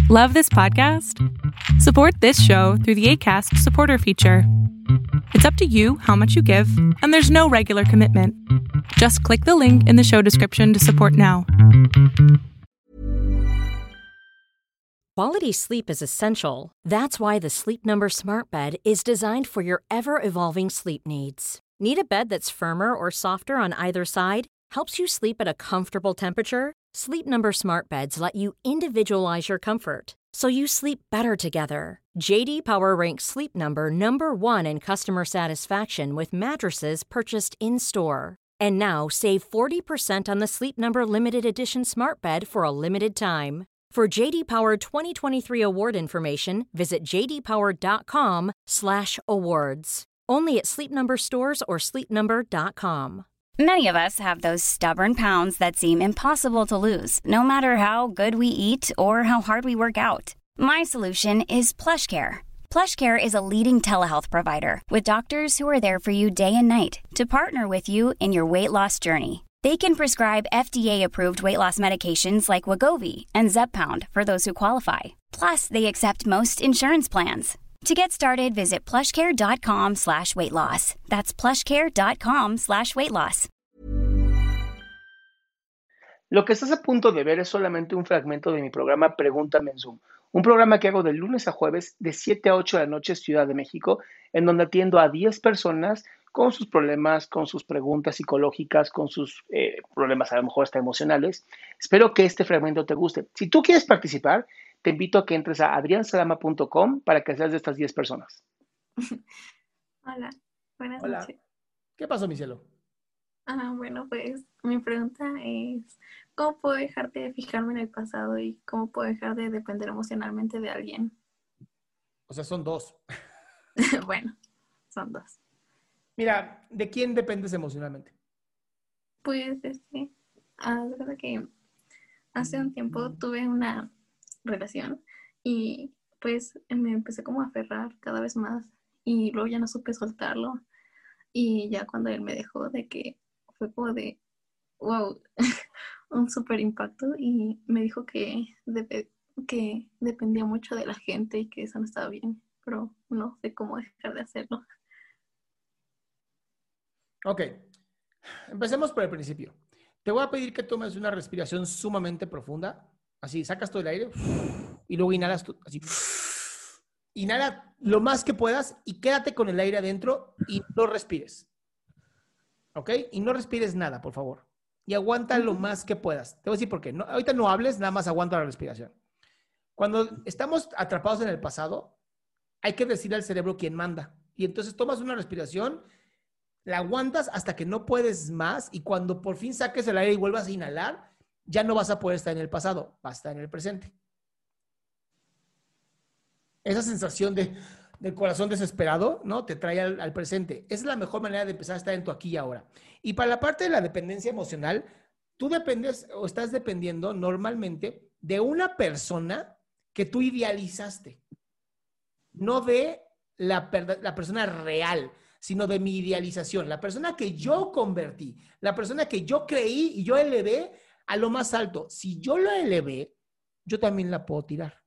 Love this podcast? Support this show through the Acast supporter feature. It's up to you how much you give, and there's no regular commitment. Just click the link in the show description to support now. Quality sleep is essential. That's why the Sleep Number Smart Bed is designed for your ever-evolving sleep needs. Need a bed that's firmer or softer on either side? Helps you sleep at a comfortable temperature? Sleep Number Smart Beds let you individualize your comfort, so you sleep better together. J.D. Power ranks Sleep Number number one in customer satisfaction with mattresses purchased in-store. And now, save 40% on the Sleep Number Limited Edition Smart Bed for a limited time. For J.D. Power 2023 award information, visit jdpower.com/awards. Only at Sleep Number stores or sleepnumber.com. Many of us have those stubborn pounds that seem impossible to lose, no matter how good we eat or how hard we work out. My solution is PlushCare. PlushCare is a leading telehealth provider with doctors who are there for you day and night to partner with you in your weight loss journey. They can prescribe FDA-approved weight loss medications like Wegovy and Zepbound for those who qualify. Plus, they accept most insurance plans. To get started, visit plushcare.com/weightloss. That's plushcare.com/weightloss. Lo que estás a punto de ver es solamente un fragmento de mi programa Pregúntame en Zoom, un programa que hago de lunes a jueves de 7 a 8 de la noche, Ciudad de México, en donde atiendo a 10 personas con sus problemas, con sus preguntas psicológicas, con sus problemas a lo mejor hasta emocionales. Espero que este fragmento te guste. Si tú quieres participar, te invito a que entres a adriansalama.com para que seas de estas 10 personas. Hola, buenas Hola. noches. ¿Qué pasó, mi cielo? Bueno, pues mi pregunta es, ¿cómo puedo dejar de fijarme en el pasado y cómo puedo dejar de depender emocionalmente de alguien? O sea, son dos. Bueno, son dos. Mira, ¿de quién dependes emocionalmente? Pues, la verdad que hace un tiempo tuve una relación y pues me empecé como a aferrar cada vez más y luego ya no supe soltarlo y ya cuando él me dejó de que fue como de wow, un súper impacto y me dijo que dependía mucho de la gente y que eso no estaba bien, pero no sé cómo dejar de hacerlo. Ok, empecemos por el principio. Te voy a pedir que tomes una respiración sumamente profunda. Así, sacas todo el aire y luego inhalas así. Inhala lo más que puedas y quédate con el aire adentro y no respires. ¿Ok? Y no respires nada, por favor. Y aguanta lo más que puedas. Te voy a decir por qué. No, ahorita no hables, nada más aguanta la respiración. Cuando estamos atrapados en el pasado, hay que decirle al cerebro quién manda. Y entonces tomas una respiración, la aguantas hasta que no puedes más y cuando por fin saques el aire y vuelvas a inhalar, ya no vas a poder estar en el pasado, vas a estar en el presente. Esa sensación del corazón desesperado, ¿no? Te trae al presente. Esa es la mejor manera de empezar a estar en tu aquí y ahora. Y para la parte de la dependencia emocional, tú dependes o estás dependiendo normalmente de una persona que tú idealizaste. No de la persona real, sino de mi idealización. La persona que yo convertí, la persona que yo creí y yo elevé a lo más alto. Si yo lo elevé, yo también la puedo tirar.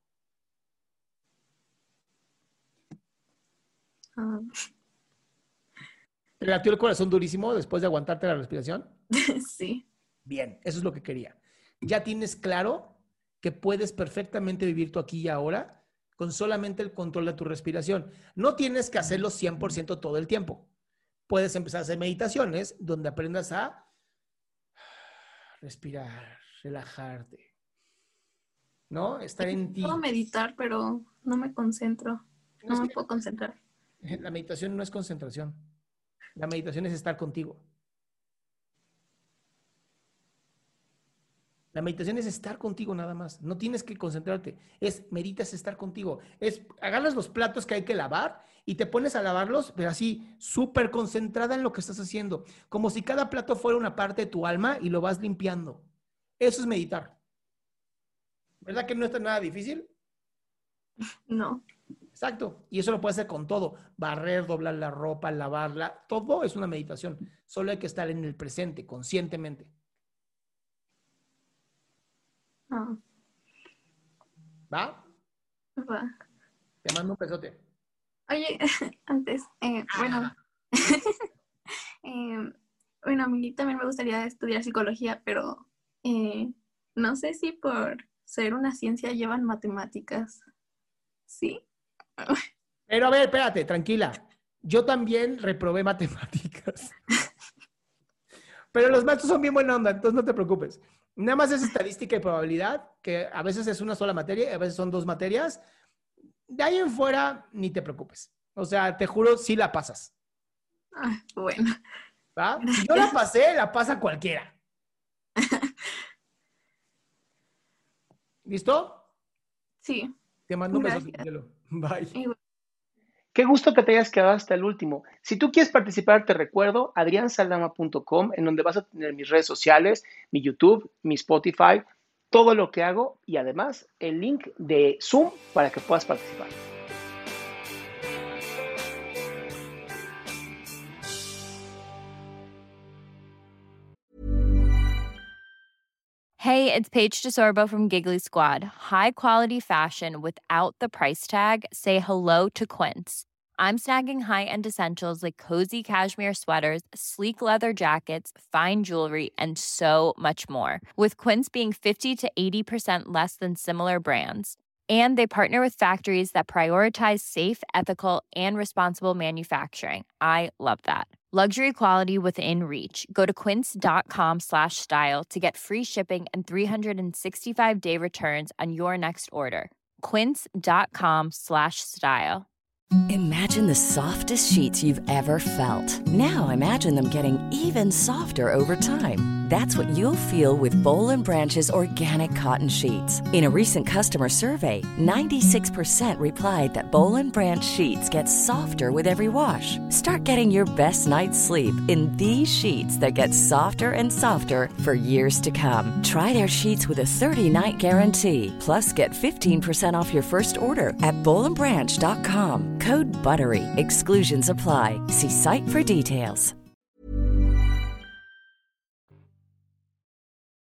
¿Te latió el corazón durísimo después de aguantarte la respiración? Sí. Bien, eso es lo que quería. Ya tienes claro que puedes perfectamente vivir tu aquí y ahora con solamente el control de tu respiración. No tienes que hacerlo 100% todo el tiempo. Puedes empezar a hacer meditaciones donde aprendas a respirar, relajarte, ¿no? Estar en ti. Puedo meditar, pero no me concentro. No me puedo concentrar. La meditación no es concentración. La meditación es estar contigo. La meditación es estar contigo nada más. No tienes que concentrarte. Meditas estar contigo. Agarras los platos que hay que lavar y te pones a lavarlos, pero así, súper concentrada en lo que estás haciendo. Como si cada plato fuera una parte de tu alma y lo vas limpiando. Eso es meditar. ¿Verdad que no está nada difícil? No. Exacto. Y eso lo puedes hacer con todo. Barrer, doblar la ropa, lavarla. Todo es una meditación. Solo hay que estar en el presente, conscientemente. ¿Va? Va. Te mando un besote. Oye, antes, bueno, bueno, a mí también me gustaría estudiar psicología, pero no sé si por ser una ciencia llevan matemáticas. ¿Sí? Pero a ver, espérate, tranquila. Yo también reprobé matemáticas. Pero los maestros son bien buena onda, entonces no te preocupes. Nada más es estadística y probabilidad, que a veces es una sola materia y a veces son 2 materias. De ahí en fuera, ni te preocupes. O sea, te juro, sí la pasas. Ah, bueno. ¿Va? Si yo la pasé, la pasa cualquiera. ¿Listo? Sí. Te mando un beso. Gracias. Bye. Igual. Qué gusto que te hayas quedado hasta el último. Si tú quieres participar, te recuerdo adriansaldama.com, en donde vas a tener mis redes sociales, mi YouTube, mi Spotify, todo lo que hago y además el link de Zoom para que puedas participar. Hey, it's Paige DeSorbo from Giggly Squad. High quality fashion without the price tag. Say hello to Quince. I'm snagging high-end essentials like cozy cashmere sweaters, sleek leather jackets, fine jewelry, and so much more. With Quince being 50 to 80% less than similar brands. And they partner with factories that prioritize safe, ethical, and responsible manufacturing. I love that. Luxury quality within reach. Go to quince.com/style to get free shipping and 365-day returns on your next order. Quince.com/style. Imagine the softest sheets you've ever felt. Now imagine them getting even softer over time. That's what you'll feel with Boll & Branch's organic cotton sheets. In a recent customer survey, 96% replied that Boll & Branch sheets get softer with every wash. Start getting your best night's sleep in these sheets that get softer and softer for years to come. Try their sheets with a 30-night guarantee. Plus, get 15% off your first order at bollandbranch.com. Code BUTTERY. Exclusions apply. See site for details.